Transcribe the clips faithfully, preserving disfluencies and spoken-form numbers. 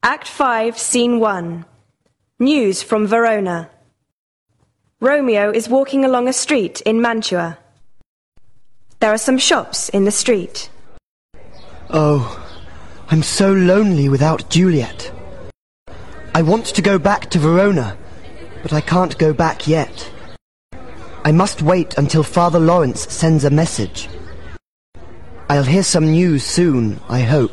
Act five, Scene one. News from Verona. Romeo is walking along a street in Mantua. There are some shops in the street. Oh, I'm so lonely without Juliet. I want to go back to Verona, but I can't go back yet. I must wait until Father Lawrence sends a message. I'll hear some news soon, I hope.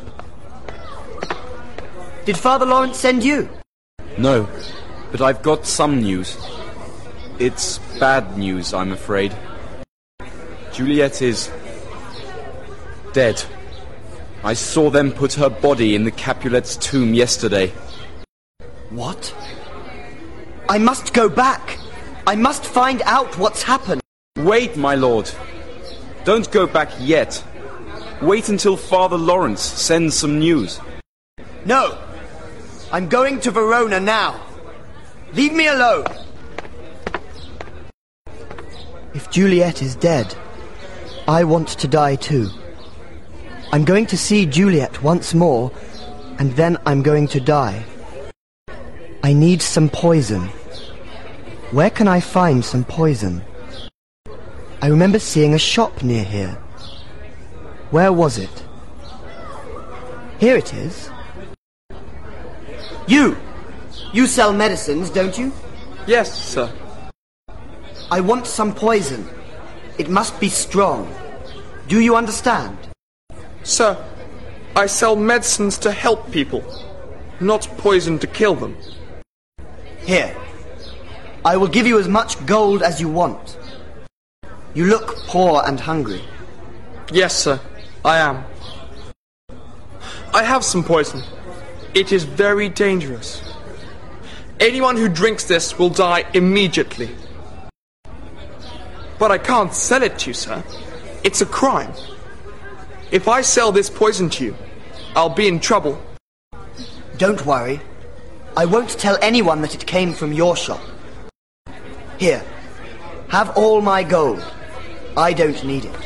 Did Father Lawrence send you? No, but I've got some news. It's bad news, I'm afraid. Juliet is dead. I saw them put her body in the Capulet's tomb yesterday. What? I must go back. I must find out what's happened. Wait, my lord. Don't go back yet. Wait until Father Lawrence sends some news. No. I'm going to Verona now. Leave me alone. If Juliet is dead, I want to die too. I'm going to see Juliet once more, and then I'm going to die. I need some poison. Where can I find some poison? I remember seeing a shop near here. Where was it? Here it is. You! You sell medicines, don't you? Yes, sir. I want some poison. It must be strong. Do you understand? Sir, I sell medicines to help people, not poison to kill them. Here. I will give you as much gold as you want. You look poor and hungry. Yes, sir, I am. I have some poison. It is very dangerous. Anyone who drinks this will die immediately. But I can't sell it to you, sir. It's a crime. If I sell this poison to you, I'll be in trouble. Don't worry. I won't tell anyone that it came from your shop. Here, have all my gold. I don't need it.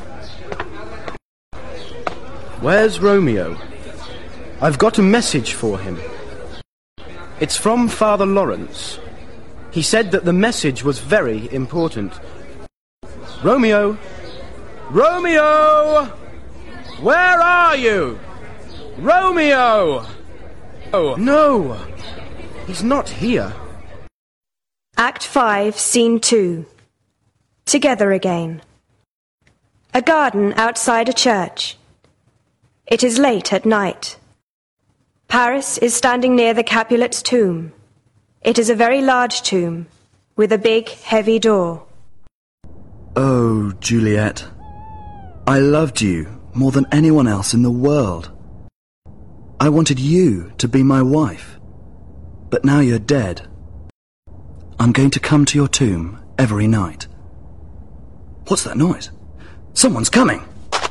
Where's Romeo? I've got a message for him. It's from Father Lawrence. He said that the message was very important. Romeo! Romeo! Where are you? Romeo! Oh, no! He's not here. Act five, Scene two. Together again. A garden outside a church. It is late at night. Paris is standing near the Capulet's tomb. It is a very large tomb, with a big, heavy door. Oh, Juliet, I loved you more than anyone else in the world. I wanted you to be my wife, but now you're dead. I'm going to come to your tomb every night. What's that noise? Someone's coming!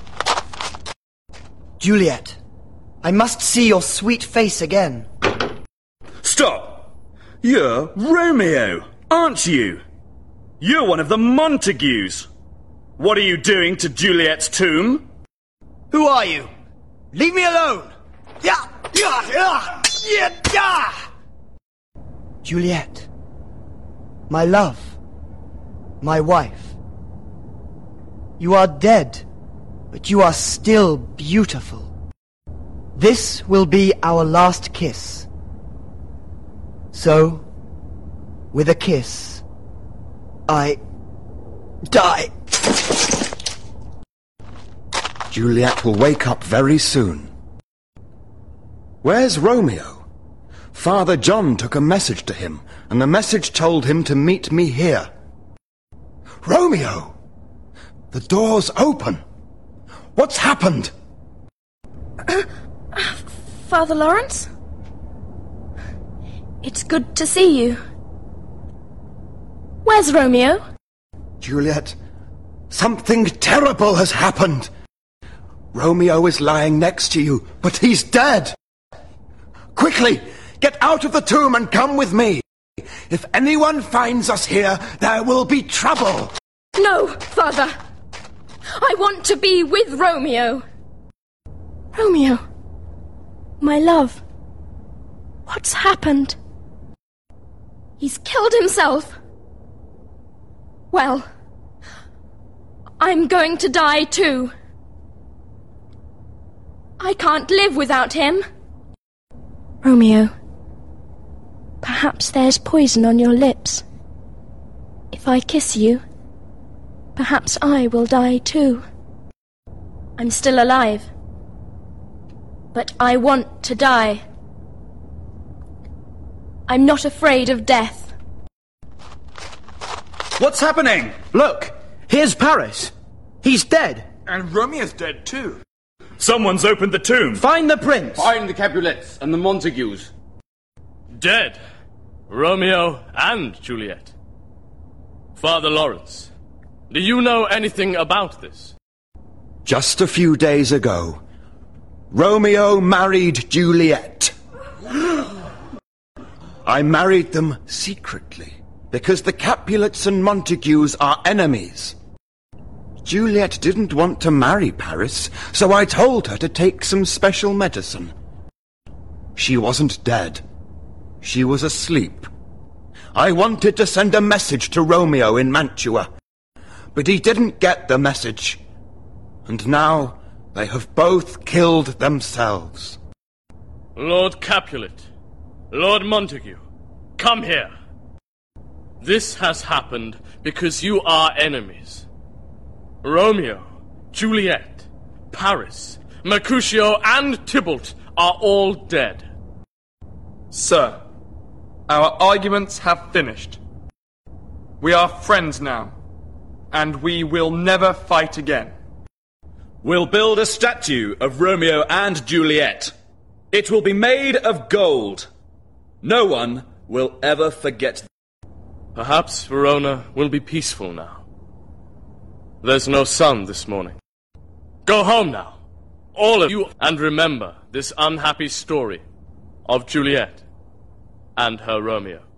Juliet, I must see your sweet face again. Stop! You're Romeo, aren't you? You're one of the Montagues. What are you doing to Juliet's tomb? Who are you? Leave me alone! Yeah, yeah, yeah, yeah, yeah. Juliet, my love, my wife. You are dead, but you are still beautiful. This will be our last kiss. So, with a kiss, I die. Juliet will wake up very soon. Where's Romeo? Father John took a message to him, and the message told him to meet me here. Romeo! The door's open. What's happened? Uh, uh, Father Lawrence? It's good to see you. Where's Romeo? Juliet, something terrible has happened. Romeo is lying next to you, but he's dead. Quickly, get out of the tomb and come with me. If anyone finds us here, there will be trouble. No, Father. I want to be with Romeo. Romeo, my love. What's happened? He's killed himself. Well, I'm going to die too. I can't live without him. Romeo, perhaps there's poison on your lips. If I kiss you, perhaps I will die too. I'm still alive, but I want to die. I'm not afraid of death. What's happening? Look, here's Paris. He's dead. And Romeo's dead too. Someone's opened the tomb. Find the prince. Find the Capulets and the Montagues. Dead. Romeo and Juliet. Father Lawrence, do you know anything about this? Just a few days ago, Romeo married Juliet. I married them secretly, because the Capulets and Montagues are enemies. Juliet didn't want to marry Paris, so I told her to take some special medicine. She wasn't dead. She was asleep. I wanted to send a message to Romeo in Mantua, but he didn't get the message. And now they have both killed themselves. Lord Capulet, Lord Montague, come here. This has happened because you are enemies. Romeo, Juliet, Paris, Mercutio, and Tybalt are all dead. Sir, our arguments have finished. We are friends now, and we will never fight again. We'll build a statue of Romeo and Juliet. It will be made of gold. No one will ever forget. Perhaps Verona will be peaceful now. There's no sun this morning. Go home now, all of you, and remember this unhappy story of Juliet and her Romeo.